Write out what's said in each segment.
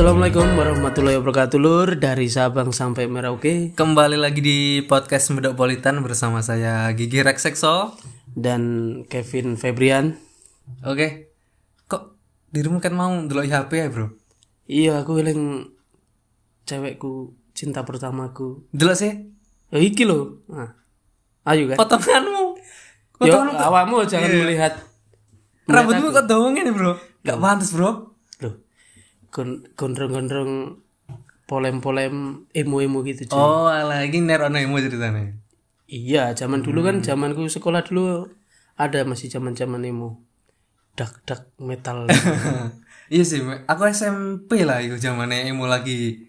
Assalamualaikum warahmatullahi wabarakatuh Lur. Dari Sabang sampai Merauke. Kembali lagi di podcast Medopolitan bersama saya Gigi Reksekso dan Kevin Febrian. Oke. Kok dirimu kan mau ndelok HP ya, Bro? Iya, aku eling cewekku, cinta pertamaku. Ndelok sih? Iki lho. Nah. Ayo kan. Potonganmu. Yo, awakmu jangan melihat rambutmu kok dawa ngene, Bro? Gak pantes, Bro. Loh. Gondrong-gondrong polem-polem emo-emo gitu, cuy. Oh, lagi nerono emo ceritanya. Iya, zaman dulu kan, zamanku sekolah dulu ada masih zaman-zaman emo. Dak metal. Iya sih, aku SMP lah itu zamannya emo lagi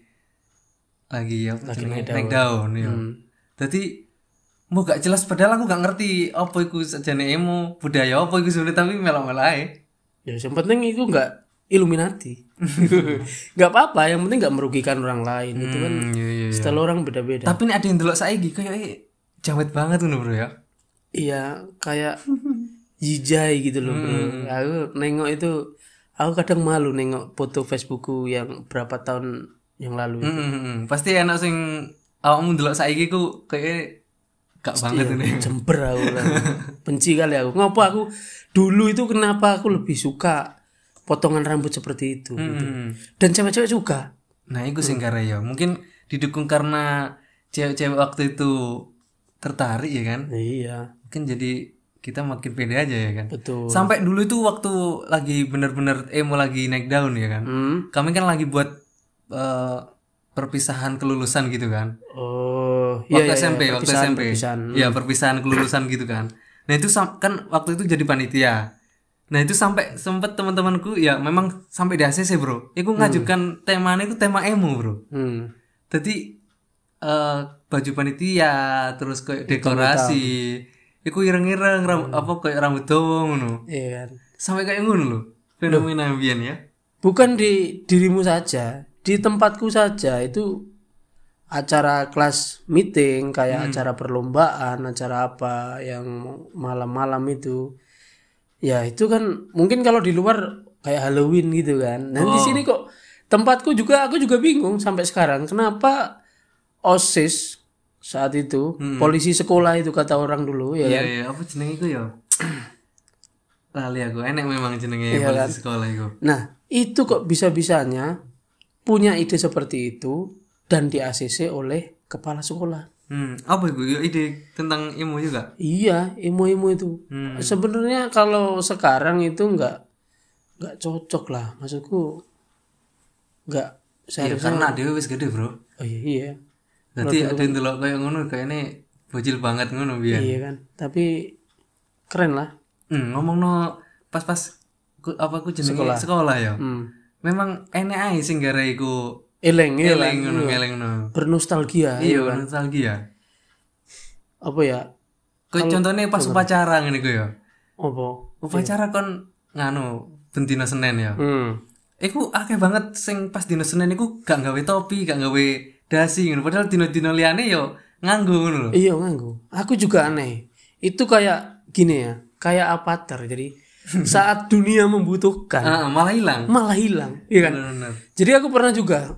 apa? Lagi Naik daun ya. Dadi mau gak jelas padahal aku gak ngerti apa iku sajane emo, budaya apa iku sebenarnya tapi melok-melok ae. Ya, yang penting itu enggak Illuminati. Enggak apa-apa, yang penting enggak merugikan orang lain. Itu kan Iya. style orang beda-beda. Tapi nek ada yang delok saiki kayak jawet banget ngono, Bro ya. Iya, kayak jijai gitu loh, Bro. Aku nengok itu, aku kadang malu nengok foto Facebookku yang berapa tahun yang lalu itu. Pasti enak sing awakmu delok saiki ku kayak gak banget ini. Jember aku lah. Benci kali aku. Ngopo aku dulu itu kenapa aku lebih suka potongan rambut seperti itu gitu. Dan cewek-cewek juga. Nah, itu sing kare ya. Mungkin didukung karena cewek-cewek waktu itu tertarik ya kan? Iya, Mungkin jadi kita makin pede aja ya kan? betul. Sampai dulu itu waktu lagi bener-bener emo lagi naik daun ya kan? Kami kan lagi buat perpisahan kelulusan gitu kan? Oh, Waktu SMP. perpisahan. Iya, perpisahan kelulusan gitu kan. Nah, itu kan waktu itu jadi panitia. Nah, itu sampai sempet teman-temanku ya memang sampai di ACC, Bro. Iku ngajukan temanya itu tema emo, Bro. Jadi baju panitia terus kayak dekorasi. Iku ireng-ireng apa kayak rambut dawa ngono. Iya kan. Sampai kayak ngono lho. Fenomena ambian ya. Bukan di dirimu saja, di tempatku saja itu acara kelas meeting kayak acara perlombaan, acara apa yang malam-malam itu. Ya itu kan mungkin kalau di luar kayak Halloween gitu kan. Nah di sini kok tempatku juga aku juga bingung sampai sekarang kenapa OSIS saat itu polisi sekolah itu kata orang dulu ya kan. Iya, apa jenenge iku ya? Lali aku, enek memang jenenge polisi sekolah iku. Nah, itu kok bisa-bisanya punya ide seperti itu dan di ACC oleh kepala sekolah. Apa itu? Ya, ide tentang emo juga? Iya, emo-emo itu. Sebenarnya kalau sekarang itu enggak cocok lah. Maksudku enggak Iya, karena dia wis gede, Bro. Oh iya. Nanti ada yang delok kayak ngono kayaknya bocil banget ngono biyen. Iya kan. Tapi keren lah. Ngomongno pas aku jenenge sekolah ya. Memang enek ae sing gara iku Eleng ngono. bernostalgia. Iya, nostalgia. Apa ya? Kayak contohnya pas upacara ngene iku ya. Apa? Upacara kon nganu bendina Senin ya. Iku akeh banget sing pas dina Senin iku gak gawe topi, gak gawe dasi ngono. Padahal dina-dina liyane yo nganggo ngono lho. Iya nganggo. Aku juga aneh. Itu kayak gini ya, kayak avatar. Jadi saat dunia membutuhkan malah hilang. Iya kan? Bener. Jadi aku pernah juga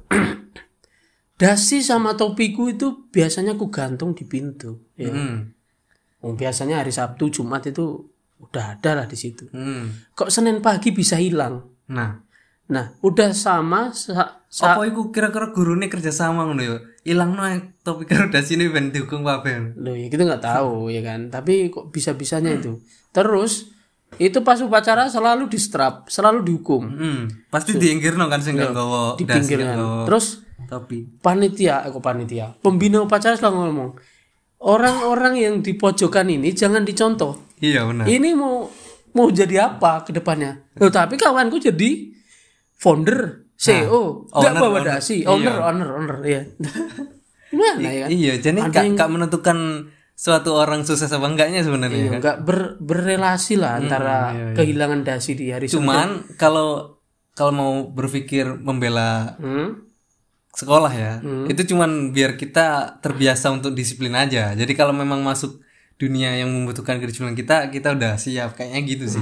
dasi sama topiku itu biasanya aku gantung di pintu. Ya. Biasanya hari Sabtu, Jumat itu udah ada lah di situ. Kok Senin pagi bisa hilang? Nah, udah sama apa iku kira-kira gurune kerja sama ngono ya? Ilangno topi karo dasine ben dihukum kabeh. Loh, ya kita nggak tahu ya kan. Tapi kok bisa-bisanya itu. Terus itu pas upacara selalu distrap, selalu dihukum. Pasti diinggirno kan sing gak nggawa Di pinggir kan. Terus topi. panitia. Pembina upacara selalu ngomong, orang-orang yang di pojokan ini jangan dicontoh. Iya benar. Ini mau jadi apa ke depannya? Loh, tapi kawanku jadi founder, CEO, enggak bawa dasi, owner ya. Gimana ya? Iya, jadi gak menentukan suatu orang sukses apa enggaknya sebenarnya. Iya, enggak berrelasi lah antara kehilangan dasi di hari Cuman kalau mau berpikir membela sekolah ya, itu cuman biar kita terbiasa untuk disiplin aja. Jadi kalau memang masuk dunia yang membutuhkan kedisiplinan kita udah siap kayaknya gitu sih.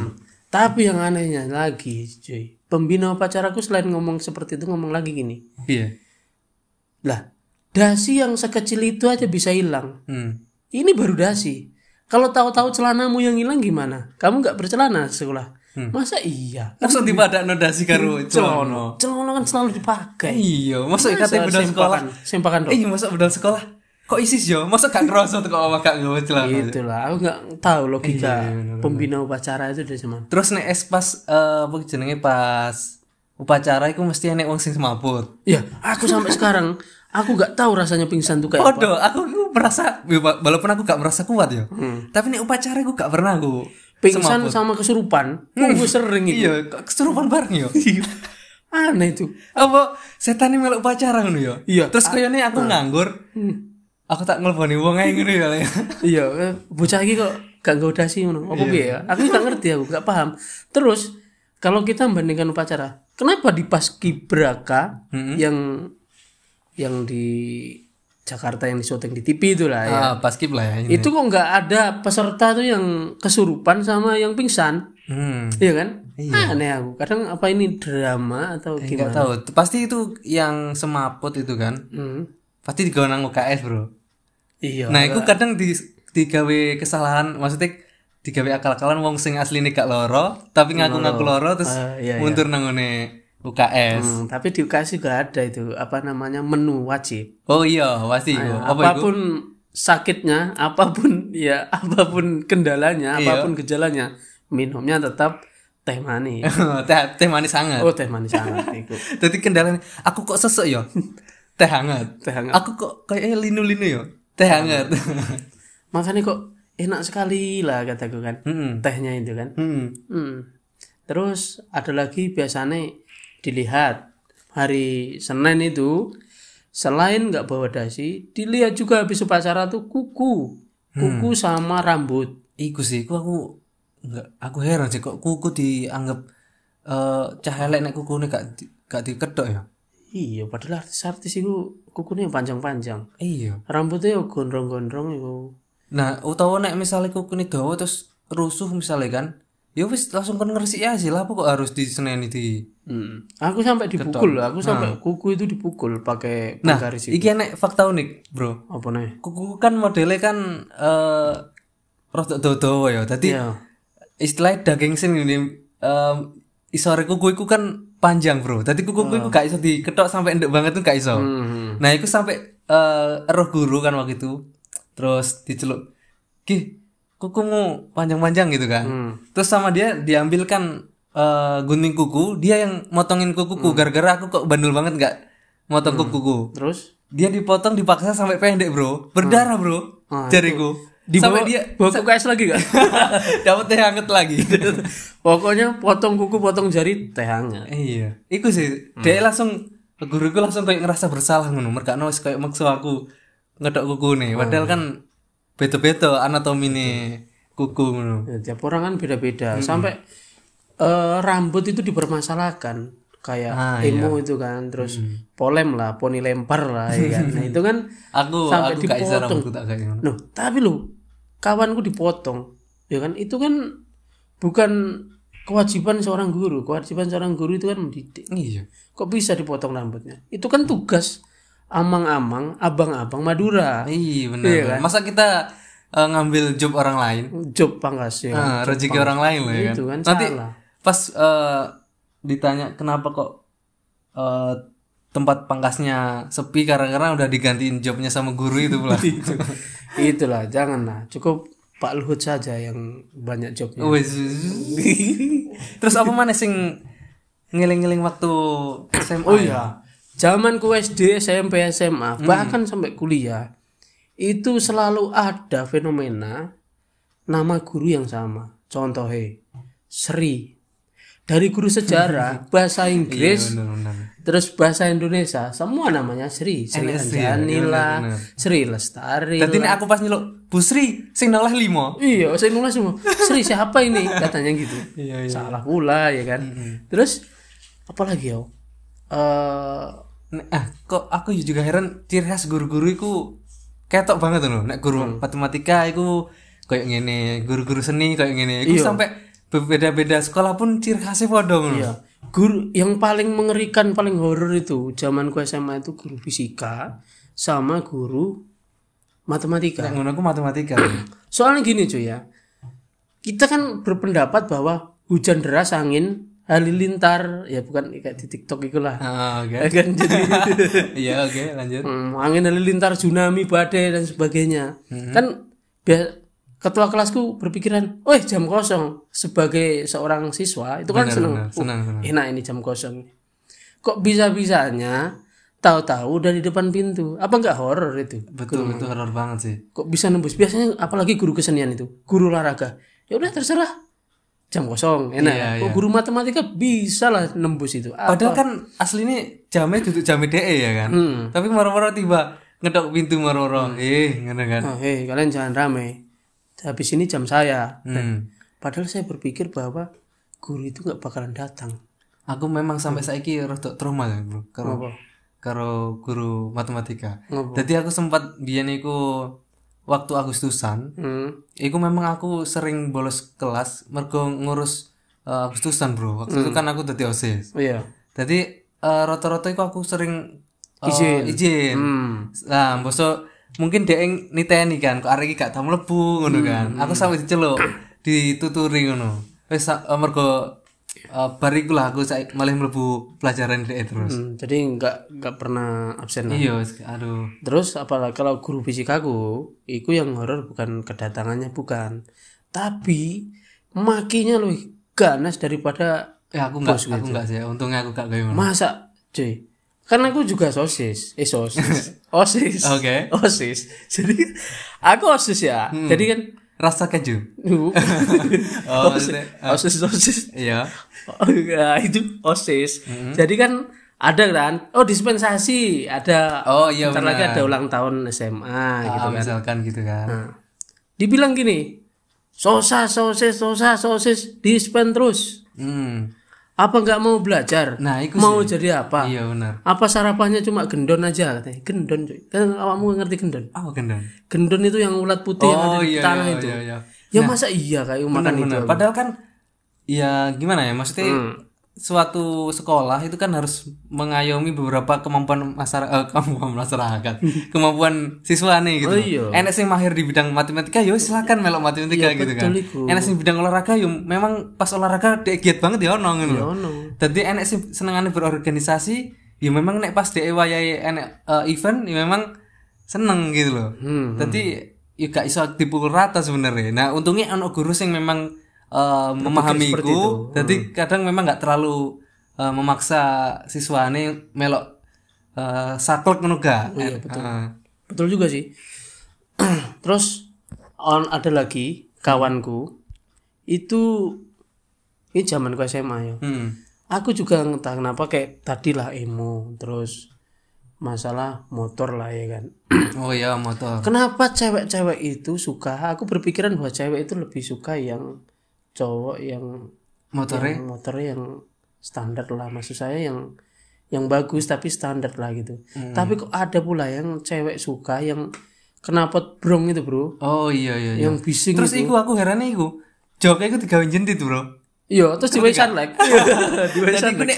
Tapi yang anehnya lagi, cuy, pembina upacaraku selain ngomong seperti itu ngomong lagi gini. Iya. Lah, dasi yang sekecil itu aja bisa hilang. Ini baru dasi. Kalau tahu-tahu celanamu yang hilang gimana? Kamu nggak bercelana sekolah? Masa iya? Masa dipadakno dasi karo celana? Celana kan selalu dipakai. Iya, masa ikate bedal sekolah. Sempakan dong. Iya, masa bedal sekolah. Kok isis yo? Masa gak ngerasa tuh kok gak nggawe celana. Itulah, aku nggak tahu logika pembina upacara itu dari zaman. Terus nek pas apa jenenge pas upacara iku mesti enek wong sing semaput. Iya, aku sampai sekarang aku nggak tahu rasanya pingsan tuh kayak apa. Podo, aku merasa walaupun aku gak merasa kuat ya. Tapi nek upacara aku gak pernah aku Pingsan sama kesurupan. Gue sering itu. Iya, kesurupan bareng yo. Aneh itu. Apa setan ini melok upacara ngono ya? Iya. Terus kayaknya aku nganggur. Aku tak ngelponi wong ae ngono ya. Iya, bocah iki kok gak ngodasi ngono. Apa piye ya? Aku gak ngerti, aku gak paham. Terus kalau kita membandingkan upacara, kenapa di Paskibraka yang di Jakarta yang di syuting di TV itu lah ya. Paskib lah ya. Ini. Itu kok nggak ada peserta tuh yang kesurupan sama yang pingsan. Iya kan? Iya. Aneh aku. Kadang apa ini drama atau gimana? Enggak tahu. Pasti itu yang semaput itu kan. Pasti digawe nang UKS, Bro. Iya. Nah, itu kadang digawe kesalahan, maksudnya digawe akal-akalan wong sing asline gak loro, tapi ngaku-ngaku loro terus mundur nang ngene UKS. Tapi di UKS juga ada itu apa namanya menu wajib. Oh iya, pasti itu. Apapun sakitnya, apapun kendalanya, apapun gejalanya, minumnya tetap teh manis. teh manis hangat. Oh, teh manis hangat itu. Jadi kendalanya aku kok sesek ya? Teh hangat. Aku kok kayak linu-linu ya? Teh hangat. Makanya kok enak sekali lah kataku kan. Tehnya itu kan. Terus ada lagi biasanya dilihat hari Senin itu selain nggak bawa dasi, dilihat juga habis upacara tuh kuku sama rambut. Iku sih, aku heran sih kok kuku dianggap cah elek nek kukune gak diketok ya. Iya, padahal artis itu kukunya panjang-panjang. Iya. Rambutnya gondrong-gondrong itu. Nah, utawa nek misalnya kukune dawa terus rusuh misalnya kan, ya wis langsung kon ngresik ya sih lah, kok harus diseneni di. Aku sampai dipukul, sampai kuku itu dipukul pakai penggaris itu. Iki enek fakta unik, Bro. Apa nih? Kuku kan modelnya kan rodok dawa ya. Dadi istilah daging sing ini isore kuku iku kan panjang, Bro. Dadi kuku iku gak iso diketok sampai endek banget tuh gak iso. Nah, iku sampai roh guru kan waktu itu. Terus diceluk, "Ki, kukumu panjang-panjang gitu kan." Terus sama dia diambilkan gunting kuku, dia yang motongin kukuku gara-gara aku kok bandel banget gak motong kukuku. Terus dia dipotong dipaksa sampai pendek, Bro. Berdarah, Bro. Jariku. Sampai dia bawa UKS lagi gak? Dapat teh hangat lagi. Pokoknya potong kuku, potong jari, teh hangat. Iya. Iku sih. Dia langsung guruku langsung kayak ngerasa bersalah ngono. Merkane wis kayak maksa aku ngedok kukune. Padahal kan beda-beda anatomine kuku ngono. Ya, tiap orang kan beda-beda. Sampai rambut itu dipermasalahkan kayak emo itu kan, terus polem lah, poni lempar lah ya kan. Nah, itu kan aku gak bisa rambutku tak kayak ngono. Loh, tapi lu kawanku dipotong. Ya kan itu kan bukan kewajiban seorang guru. Kewajiban seorang guru itu kan mendidik. Iya. Kok bisa dipotong rambutnya? Itu kan tugas amang-amang, abang-abang Madura. Iya benar. Iya, kan? Masa kita ngambil job orang lain? Job pangkas ya. Rezeki orang lain lah ya kan. Itu kan nanti salah. Pas ditanya kenapa kok tempat pangkasnya sepi karena udah digantiin jobnya sama guru itu pula. Itulah, janganlah. Cukup Pak Luhut saja yang banyak jobnya. Terus apa mana sing ngiling-ngiling waktu SMA? Oh iya. Zamanku SD, SMP, SMA, bahkan sampai kuliah, itu selalu ada fenomena nama guru yang sama. Contohnya Sri. Dari guru sejarah, bahasa Inggris, terus bahasa Indonesia, semua namanya Sri. Sri Anjani lah, Sri Lestari. Tadi ini aku pas nyeluk, Bu Sri, sing noleh 5. Iya, sing noleh semua. Sri siapa ini? Katanya gitu. Iya. Salah pula ya kan. Terus apa lagi ya? Kok aku juga heran ciri khas guru-guru iku ketok banget loh. Nek guru matematika iku kayak ngene, guru-guru seni kayak ngene. Iku sampai beda-beda sekolah pun ciri khasnya podo ngono. Iya. Guru yang paling mengerikan, paling horor itu zamanku SMA itu guru fisika sama guru matematika. Nek ngono aku matematika. Soalnya gini cuy ya. Kita kan berpendapat bahwa hujan deras, angin, halilintar, ya bukan kayak di TikTok itulah. Oke. Kan jadi Iya, oke, lanjut. angin, halilintar, tsunami, badai dan sebagainya. Kan ketua kelasku berpikiran, "Oh, jam kosong." Sebagai seorang siswa itu kan seneng. senang. Enak ini jam kosong. Kok bisa-bisanya tahu-tahu dari depan pintu? Apa enggak horor itu? Betul, itu horor banget sih. Kok bisa nembus? Biasanya apalagi guru kesenian itu, guru olahraga. Ya udah terserah. Jam kosong, enak. Iya, Kok guru matematika bisa lah nembus itu. Padahal kan aslinya jamnya duduk jamnya DE ya kan. Tapi moro-moro tiba ngedok pintu moro-moro. Ngono kan. Oh, kalian jangan rame. Habis ini jam saya. Padahal saya berpikir bahwa guru itu nggak bakalan datang. Aku memang sampai saiki rada trauma ya, Bro. Kenapa? Karo guru matematika. Ngapa? Jadi aku sempat biyen iku waktu Agustusan, iku memang aku sering bolos kelas mergo ngurus Agustusan, Bro. Waktu itu kan aku dadi OSIS. Iya. Jadi rata-rata iku aku sering Izin. Nah, mbosok mungkin dhek niteni kan, kok arek iki gak tau mlebu ngono kan. Aku sampe diceluk, dituturi ngono. Wis mergo bar iku lah aku malah mlebu pelajaran dhek terus. Jadi nggak pernah absen lah. Iya, aduh. Terus apalagi kalau guru fisikaku, itu yang horor bukan kedatangannya, bukan, tapi makinya lebih ganas daripada Aku enggak sih. Untungnya aku gak kayak ngono. masa, cuy. Karena aku juga sosis, osis. Oke. Osis. Jadi aku osis ya. Jadi kan Rasa keju. osis. Iya. Oh, ya, itu osis. Jadi kan ada kan, dispensasi, ada. Oh iya Bentar benar. lagi ada ulang tahun SMA gitu kan. Misalkan gitu kan. Nah, dibilang gini, sosis, dispen terus. Apa nggak mau belajar? Nah, itu mau sih. jadi apa? Iya benar. Apa sarapannya cuma gendon aja katanya? Gendon cuy. Kan awakmu ngerti gendon? Oh, gendang. Gendon itu yang ulat putih yang ada di tanah itu. Iya. Ya masa iya kayak makan itu? Benar. Padahal kan ya gimana ya? Maksudnya suatu sekolah itu kan harus mengayomi beberapa kemampuan masyarakat, kemampuan siswane gitu. Oh, iya. Enek sing mahir di bidang matematika, yo silakan melok matematika gitu kan. iku. Enek sing bidang olahraga, yo memang pas olahraga dhek giat banget ya ono ngono. Ya lho. ono. Dadi enek sing senengane berorganisasi, ya memang nek pas dhek wayahe enek event, ya memang seneng gitu loh. Dadi ya gak iso dipukul rata sebenarnya. Nah, untungnya ono guru sing memang memahamiku, jadi kadang memang nggak terlalu memaksa siswane melok saklek ngono gak. Iya, betul. Betul juga sih. Terus ada lagi kawanku itu, ini zamanku SMA ya. Aku juga entah kenapa kayak tadi lah emo, terus masalah motor lah ya kan. Oh iya, motor. Kenapa cewek-cewek itu suka? Aku berpikiran bahwa cewek itu lebih suka yang cowok yang motornya yang standar lah, maksud saya yang bagus tapi standar lah gitu. Tapi kok ada pula yang cewek suka yang knalpot brong itu, Bro. Oh iya. Yang bising Terus itu. aku heran iku. Joknya iku digawe jentit, Bro. Iya, terus diwe sunlight. Diwe Jadi iku nek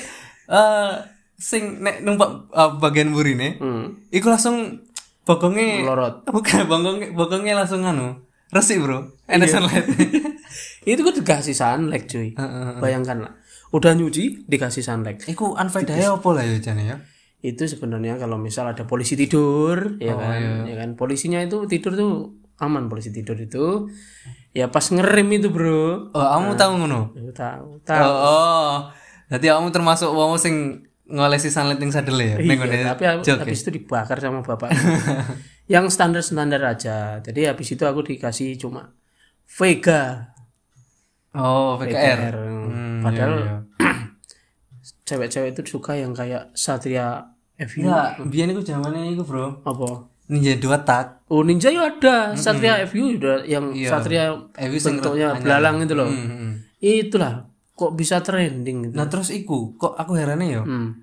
sing nek numpak bagian burine, iku langsung bokongnya Melorot. Bukan, bokongnya langsung resik, Bro. Enak sunlight. Itu kan dikasih sunlight, cuy. Bayangkan lah. Udah nyuci dikasih sunlight. Iku anfaedahe opo lah ya jane ya? Itu sebenarnya kalau misal ada polisi tidur, ya kan, ya kan, polisinya itu tidur tuh aman, polisi tidur itu. Ya pas ngerem itu, Bro. Oh, kamu tahu ngono? Tahu. Oh. Jadi kamu termasuk wong sing ngolesi sunlight ning sadele ya? Iya, tapi habis itu dibakar sama bapak. Yang standar-standar aja. Jadi habis itu aku dikasih cuma Vega. Oh, VKR. Padahal cewek-cewek itu suka yang kayak Satria FU. Enggak, biyen iku zamane iku, Bro. Apa? Ninja 2 tak. Oh, Ninja ya ada. Satria FU udah yang Satria FU sing bentuknya belalang itu loh. Itulah kok bisa trending gitu. Nah, terus iku kok aku herane ya.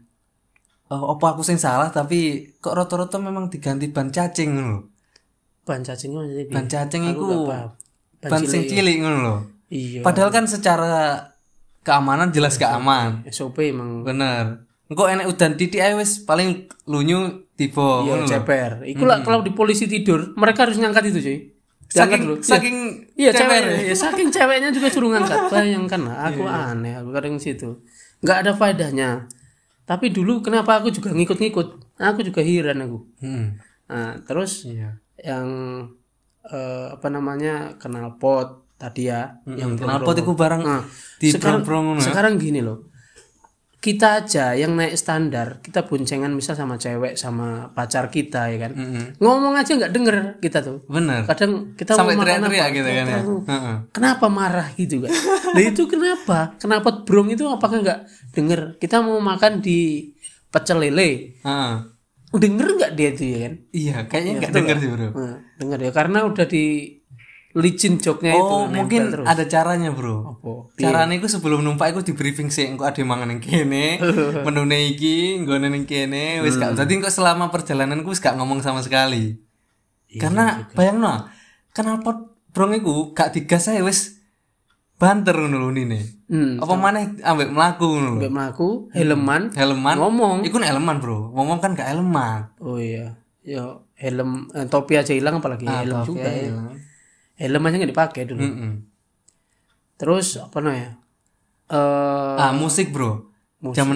Apa aku sing salah tapi kok rata-rata memang diganti ban cacing ngono lho. Ban cacingnya jadi Ban cacing iku ban ban sing cilik ngono lho. Iya. Padahal kan secara keamanan jelas gak aman. SOP emang. Bener. Engko enek udan titik ae wis paling lunyu tiba Iya, ngono lho. ceper. Iku lah kalau di polisi tidur, mereka harus ngangkat itu, cuy. Saking Iya, ceper. cewek. Ya, saking ceweknya juga suruh ngangkat. Bayangkan lah, aku aneh, aku kadang situ. Nggak ada faedahnya. Tapi dulu kenapa aku juga ngikut-ngikut? Aku juga heran aku. Nah, terus Iya. yang knalpot tadi ya, yang Knalpot iku barang di brong-brong ngono. sekarang gini loh. Kita aja yang naik standar, kita boncengan misal sama cewek sama pacar kita ya kan. Ngomong aja nggak denger kita tuh. Bener. Kadang kita Sampai mau makan teriak-teriak apa, gitu kan ya. kenapa marah gitu kan. Nah itu kenapa? Kenapa brong itu apakah nggak denger? Kita mau makan di pecel lele. Heeh. Denger nggak dia itu ya kan? Iya, kayaknya enggak denger sih, Bro. Nah, denger ya karena udah di licin joknya itu Oh, mungkin terus. ada caranya, Bro. Apa? Caranya iku sebelum numpak iku di briefing sih, engko ade mangan ning kene, menune iki, nggone ning kene, wis gak. Dadi engko selama perjalanan ku wis gak ngomong sama sekali. Karena bayangno, knalpot brong iku gak digas ae wis banter ngono lho nine. Apa maneh ambek mlaku ngono lho. Mbak mlaku helman ngomong. Iku helman, Bro. Ngomong kan gak helman. Oh iya. Yo helm topi aja hilang apalagi helm juga ya. Helm aja nggak dipakai dulu. Terus apa namanya? Musik, Bro. Zaman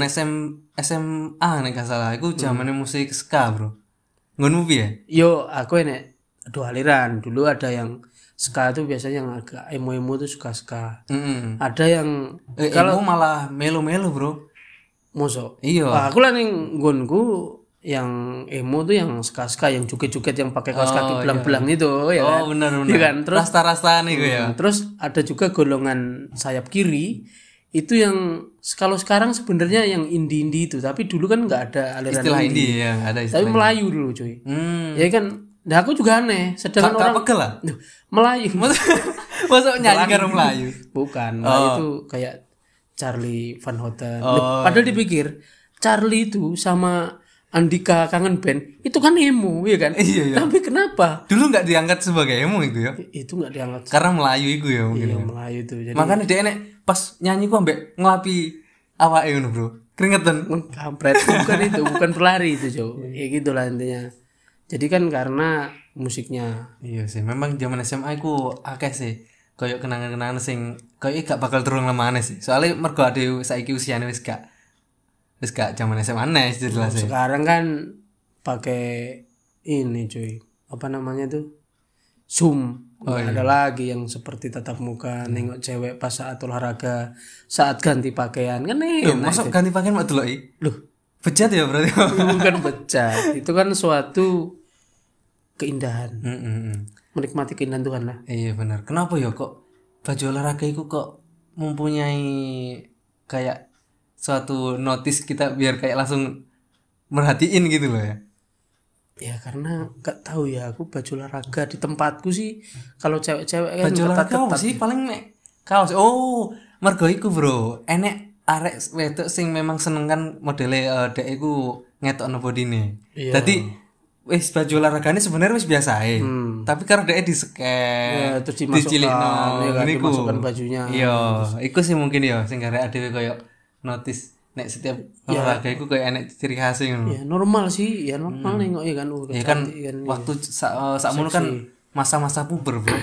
SMA nek gak salah, iku zamane musik ska, Bro. Ngono piye? Yo aku enek dua aliran. Dulu ada yang ska tuh biasanya yang agak emo-emo tuh suka ska. Ada yang kalau malah melo-melo, Bro. Mosok. Iya. Aku lah ning nggonku yang emo tuh yang ska-ska yang joget-joget yang pakai kaos kaki belang-belang itu ya kan. Oh, benar. Iya kan? Terus rasta-rastaan iku ya. Terus ada juga golongan sayap kiri itu yang kalau sekarang sebenarnya yang indie-indie itu, tapi dulu kan nggak ada aliran Istilah indie ya, ada istilah. tapi Melayu dulu cuy. Ya kan. Nah aku juga aneh, sedangkan orang pegel lah. Melayu. Masuk nyanyi karo Melayu. Bukan, Melayu itu kayak Charlie Van Houten. Padahal dipikir Charlie itu sama Andika Kangen Band itu kan emo ya kan. Iya. Tapi kenapa? Dulu nggak diangkat sebagai emo itu ya? Itu nggak diangkat. Karena Melayu itu ya mungkin. Iya, Melayu itu. Jadi makanya dia enek pas nyanyi ku ambek ngelapi awake ngono, Bro. Keringetan. Kampret. Bukan itu, bukan pelari itu, Jo. Ya gitulah intinya. Jadi kan karena musiknya. Iya sih, memang zaman SMA ku akeh sih. Kayak kenangan-kenangan sing kayak gak bakal turun lemane sih. Soalnya mergo ade saiki usiane wis gak zaman SMA nih jelas sih. Sekarang kan pakai ini cuy. Apa namanya tuh? Zoom. Nggak ada lagi yang seperti tatap muka nengok cewek pas saat olahraga, saat ganti pakaian kan Masuk ganti pakaian mak deloki. Loh, bejat ya berarti. bukan bejat. Itu kan suatu keindahan. Menikmati keindahan Tuhan lah. Iya benar. Kenapa ya kok baju olahraga itu kok mempunyai kayak suatu notice kita biar kayak langsung merhatiin gitu loh ya. Ya karena gak tahu ya, aku baju olahraga di tempatku sih kalau cewek-cewek kan baju olahraga apa sih paling mek kaos. Oh, mergo iku, Bro. Enek arek wedok sing memang seneng kan modele dek iku ngetokno bodine. Dadi wis baju olahragane sebenarnya wis biasa ae. Tapi karena dek disken, terus dimasukkan, dimasukkan bajunya. Iya, iku sih mungkin ya sing garek dhewe koyo notice nek setiap olahraga iku koyo enek ciri khas ngono. Ya normal sih, ya normal nengok ya kan. Ya kan waktu sakmono kan masa-masa puber, Bro.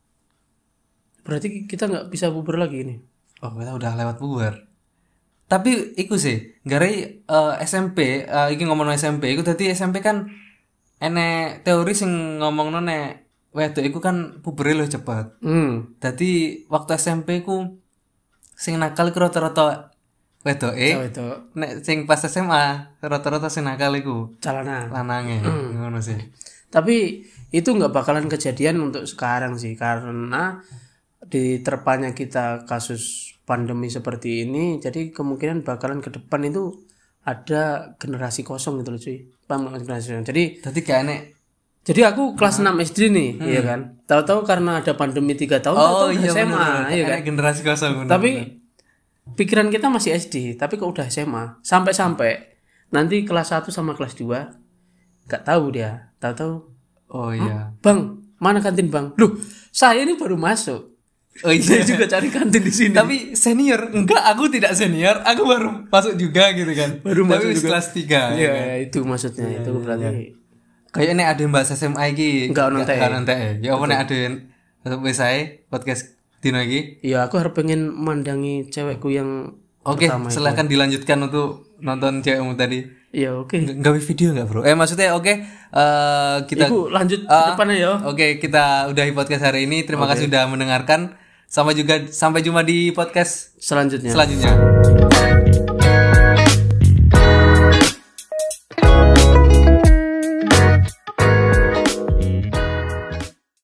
Berarti kita nggak bisa puber lagi ini. Oh, kita udah lewat puber. Tapi iku sih, gara SMP, iki ngomong SMP, iku dadi SMP kan enek teori sing ngomongno nek wedok iku kan pubere luwih cepet. Dadi waktu SMP ku sing nakal iku rata-rata wedoke. Nek sing pas SMA rata-rata sing nakal iku lanange. Ngono sih. Tapi itu nggak bakalan kejadian untuk sekarang sih, karena diterpanya kita kasus pandemi seperti ini, jadi kemungkinan bakalan ke depan itu ada generasi kosong gitu loh cuy. Paham gak generasi kosong? Jadi kayak enek. Jadi aku kelas 6 SD nih, iya kan. Tahu-tahu karena ada pandemi 3 tahun, tahu iya, SMA, iya kan. Generasi kosong. Tapi pikiran kita masih SD, tapi kok udah SMA. Sampai nanti kelas 1 sama kelas 2 gak tahu dia. Tahu-tahu, oh iya. Bang, mana kantin Bang? Loh, saya ini baru masuk. Oh Saya iya. juga cari kantin di sini. Tapi senior, enggak, aku tidak senior, aku baru masuk juga gitu kan. Baru tapi masuk wis juga. kelas 3. Iya, itu maksudnya. Itu berarti Kayak ini ada Mbak SMA iki. Enggak ono TE. Ya apa nek ada wis ae podcast dino iki. ya aku harus pengen mandangi cewekku yang Oke, pertama itu. silakan dilanjutkan untuk nonton cewekmu tadi. Ya oke. Gawe video enggak, Bro? Maksudnya oke, kita Iku lanjut ke depannya ya. Oke, kita udahi podcast hari ini. Terima kasih sudah mendengarkan. Sampai jumpa di podcast Selanjutnya. selanjutnya.